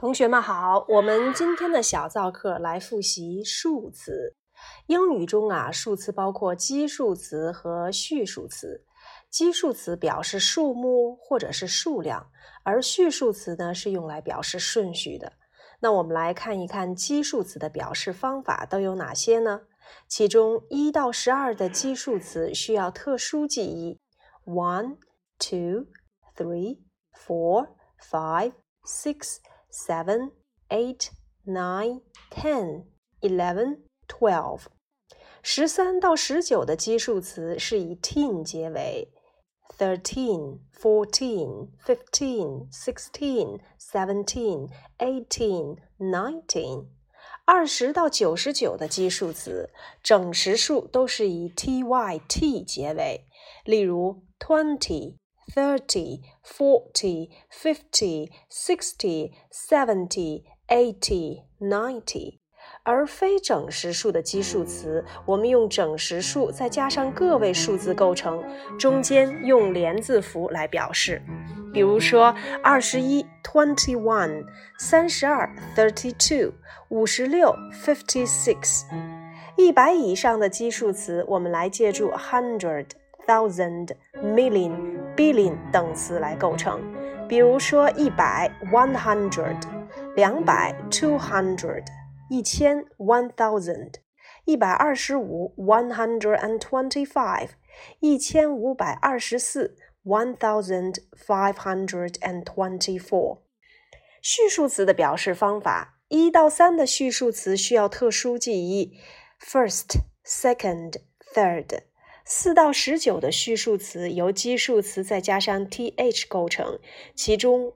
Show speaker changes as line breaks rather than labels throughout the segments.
同学们好，我们今天的小造课来复习数词。英语中数词包括基数词和序数词。基数词表示数目或者是数量，而序数词呢是用来表示顺序的。那我们来看一看基数词的表示方法都有哪些呢？其中1到12的基数词需要特殊记忆 1, 2, 3, 4, 5, 6, 7, 8, 9, 10, 11, 12 13到19的基数词是以 teen 结尾 13, 14, 15, 16, 17, 18, 19 20到99的基数词整实数都是以 tyt 结尾，例如20 30, 40, 50, 60, 70, 80, 90而非整实数的基数词我们用整实数再加上个位数字构成，中间用连字符来表示。比如说21 21 32 32 56 56 100以上的基数词我们来借助 100 1000 million billion 等词来构成。比如说100 100 200 200 1000 1000 125 125 1524 1524序数词的表示方法1到3的序数词需要特殊记忆 first, second, third 4到19的序数词由基数词再加上 th 构成，其中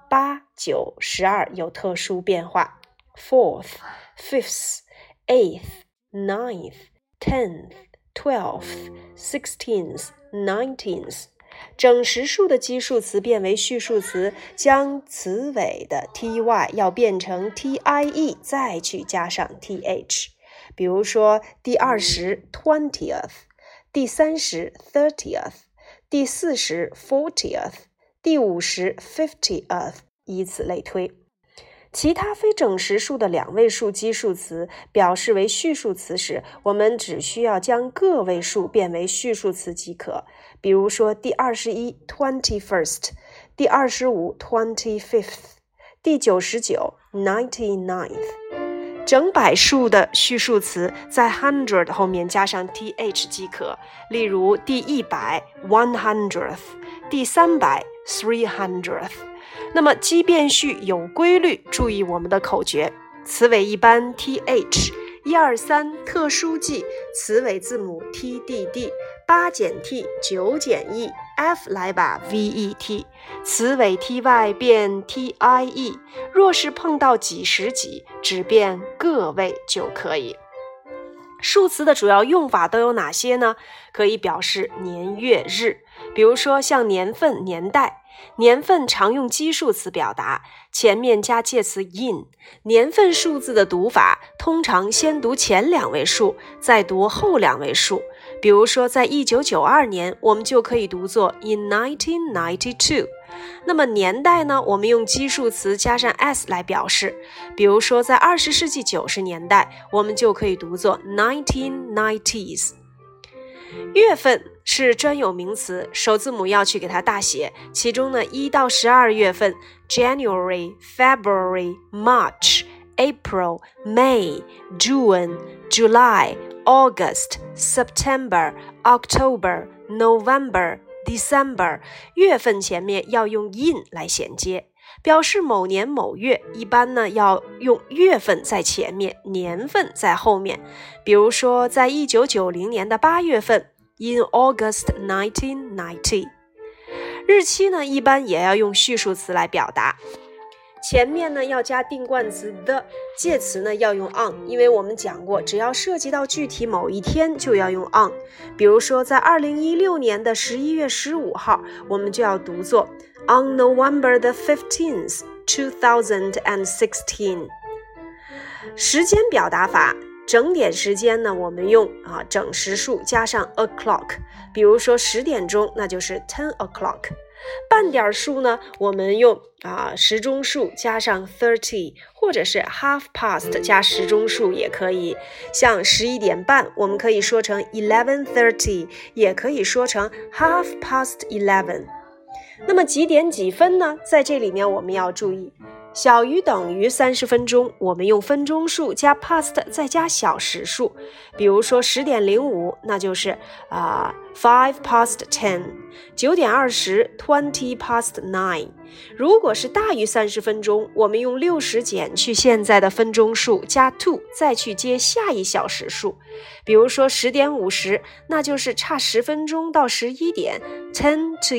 5、8、9、12有特殊变化 fourth, fifth, eighth, ninth, 10th, 12th, 16th, 19th整实数的基数词变为序数词，将词尾的 ty 要变成 tie 再去加上 th。 比如说第20 20th， 第30 30th， 第40 40th， 第50 50th， 以此类推。其他非整实数的两位数基数词表示为序数词时，我们只需要将个位数变为序数词即可。比如说第21 21st， 第25 25th， 第99 99th。整百数的序数词在 100 后面加上 th 即可，例如第100 100th， 第300 300th。那么奇变序有规律，注意我们的口诀，词尾一般 th 123特殊记，词尾字母 tdd 8减 t 9减 e f 来吧 vet 词尾 ty 变 tie 若是碰到几十几只变个位就可以。数词的主要用法都有哪些呢？可以表示年月日，比如说像年份年代，年份常用基数词表达，前面加介词 in。 年份数字的读法通常先读前两位数再读后两位数，比如说在1992年我们就可以读作 in 1992。那么年代呢，我们用基数词加上 s 来表示，比如说在20世纪90年代我们就可以读作 1990s。 月份是专有名词，首字母要去给它大写，其中呢1到12月份 January, February, March, April, May, June, July, August, September, October, November, December 月份前面要用 in 来衔接，表示某年某月，一般呢要用月份在前面，年份在后面。比如说在1990年的8月份 in August 1990。 日期呢一般也要用序数词来表达，前面呢要加定冠词 the， 介词呢要用 on， 因为我们讲过只要涉及到具体某一天就要用 on。 比如说在2016年的11月15号我们就要读作 on November the 15th 2016。 时间表达法，整点时间呢我们用整实数加上 o'clock， 比如说10点钟那就是 10 o'clock， 半点数呢，我们用时钟数加上 30， 或者是 half past 加时钟数也可以。像11点半，我们可以说成 11:30， 也可以说成 half past 11。那么几点几分呢？在这里面我们要注意，小于等于30分钟，我们用分钟数加 past 再加小时数。比如说10点05，那就是5 past 10， 9点20 20 past 9。如果是大于30分钟，我们用60减去现在的分钟数加 2， 再去接下一小时数。比如说10点50，那就是差10分钟到11点 10 to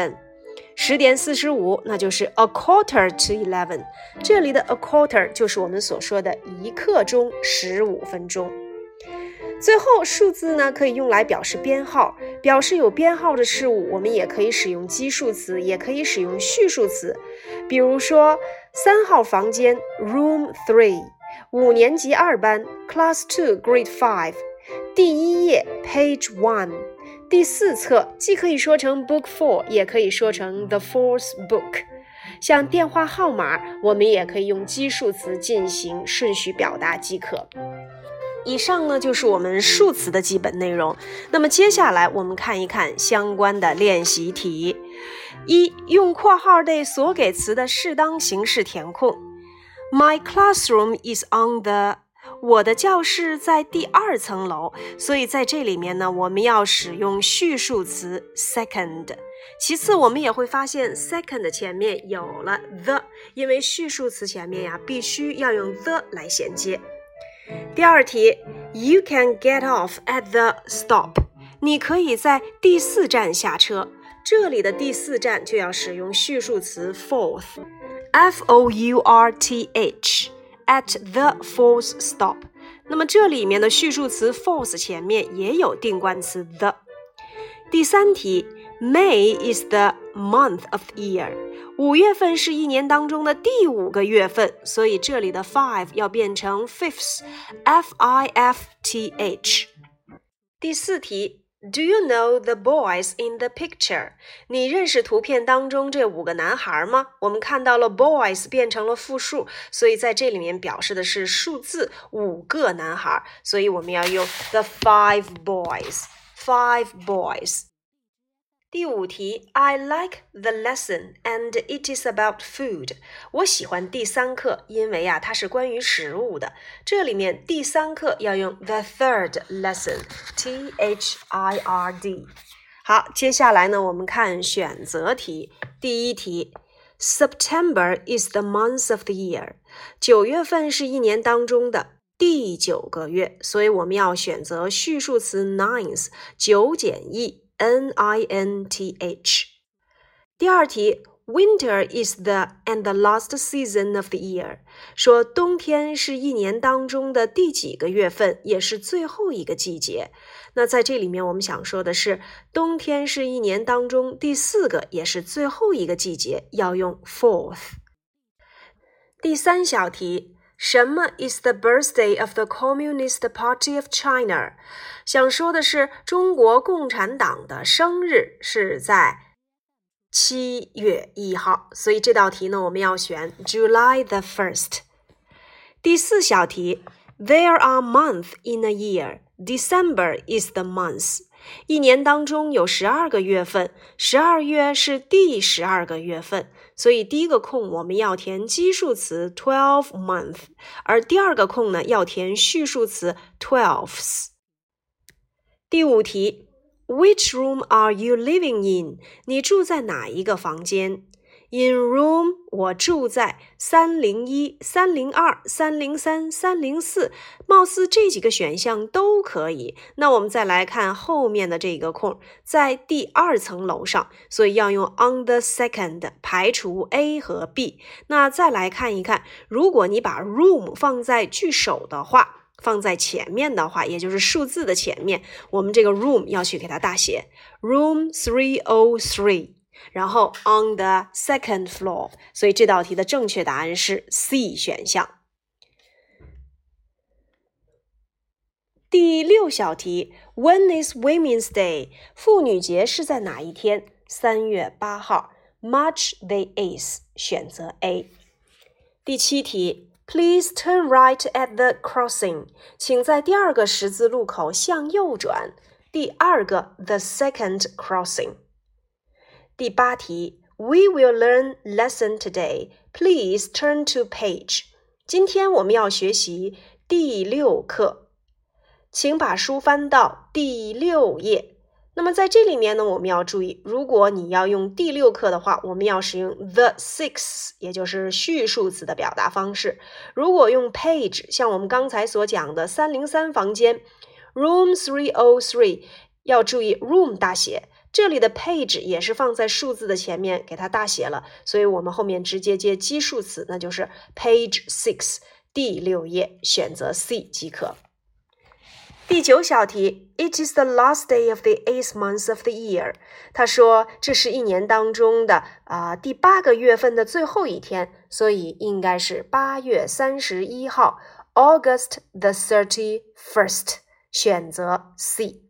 11。10点45，那就是 a quarter to 11。这里的 a quarter 就是我们所说的1刻钟15分钟。最后数字呢，可以用来表示编号，表示有编号的事物，我们也可以使用基数词，也可以使用序数词。比如说3号房间 room 3， 5年级2班 class 2 grade 5， 第1页 page 1，第4册既可以说成 book 4， 也可以说成 the fourth book。 像电话号码，我们也可以用基数词进行顺序表达即可。以上呢就是我们数词的基本内容。那么接下来我们看一看相关的练习题。1. 用括号内所给词的适当形式填空。 My classroom is on the，我的教室在第2层楼，所以在这里面呢，我们要使用序数词 second。 其次我们也会发现 second 前面有了 the， 因为序数词前面必须要用 the 来衔接。第2题 You can get off at the stop， 你可以在第4站下车，这里的第4站就要使用序数词 fourth， F-O-U-R-T-H at the fourth stop。 那么这里面的序数词 fourth 前面也有定冠词 the。 第3题 May is the month of the year， 5月份是一年当中的第5个月份，所以这里的 five 要变成 fifth， F-I-F-T-H。 第4题Do you know the boys in the picture？ 你认识图片当中这5个男孩吗？我们看到了 boys 变成了复数，所以在这里面表示的是数字5个男孩，所以我们要用 the five boys。 第5题 I like the lesson and it is about food。 我喜欢第3课，因为它是关于食物的。这里面第3课要用 the third lesson， T-H-I-R-D。 好，接下来呢，我们看选择题。第1题 September is the month of the year， 9月份是一年当中的第9个月，所以我们要选择序数词 ninth， 9减1N-I-N-T-H。 第2题 Winter is the and the last season of the year， 说冬天是一年当中的第几个月份，也是最后一个季节。那在这里面我们想说的是冬天是一年当中第4个也是最后一个季节，要用 fourth。 第3小题什么 is the birthday of the Communist Party of China？ 想说的是中国共产党的生日是在7月1号，所以这道题呢，我们要选 July the 1st。 第4小题 There are months in a year. December is the month。 一年当中有12个月份，12月是第12个月份，所以第1个空我们要填基数词 12 month， 而第2个空呢要填序数词 twelfths。 第5题 Which room are you living in？ 你住在哪一个房间？ In room 我住在301、302、303、304，貌似这几个选项都可以。那我们再来看后面的这个空，在第2层楼上，所以要用 on the second 排除 A 和 B。 那再来看一看，如果你把 room 放在句首的话，放在前面的话，也就是数字的前面，我们这个 room 要去给它大写 room 303，然后 on the second floor， 所以这道题的正确答案是 C 选项。第6小题 When is Women's Day？ 妇女节是在哪一天？ 3月8号。March the 8th， 选择 A。第7题 Please turn right at the crossing， 请在第2个十字路口向右转。第2个 the second crossing。第8题 We will learn lesson today. Please turn to page。 今天我们要学习第6课，请把书翻到第6页。那么在这里面呢，我们要注意，如果你要用第6课的话，我们要使用 the sixth， 也就是序数词的表达方式。如果用 page， 像我们刚才所讲的303房间 room 303， 要注意 room 大写，这里的 page 也是放在数字的前面给它大写了，所以我们后面直接接基数词，那就是 page 6， 第6页，选择 C 即可。第9小题 It is the last day of the 8th month of the year。 他说这是一年当中的第8个月份的最后一天，所以应该是8月31号 August the 31st， 选择 C。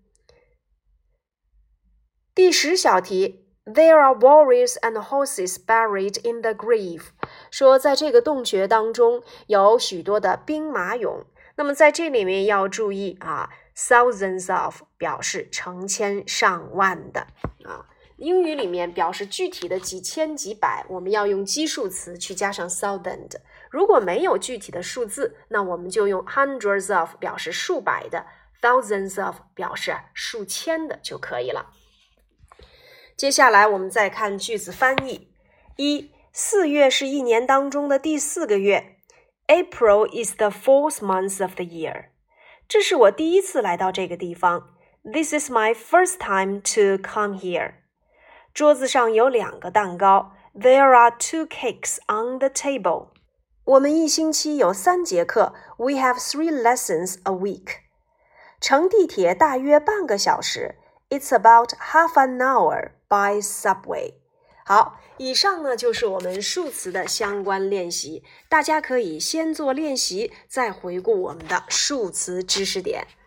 第10小题 There are warriors and horses buried in the grave。 说在这个洞穴当中有许多的兵马俑。那么在这里面要注意thousands of 表示成千上万的英语里面表示具体的几千几百，我们要用基数词去加上 thousand。 如果没有具体的数字，那我们就用 hundreds of 表示数百的， thousands of 表示数千的就可以了。接下来我们再看句子翻译。4月是一年当中的第4个月。April is the 4th month of the year. 这是我第一次来到这个地方。This is my first time to come here. 桌子上有2个蛋糕。There are 2 cakes on the table. 我们一星期有3节课。We have 3 lessons a week. 乘地铁大约半个小时。It's about half an hour by subway. 好，以上呢就是我们数词的相关练习，大家可以先做练习，再回顾我们的数词知识点。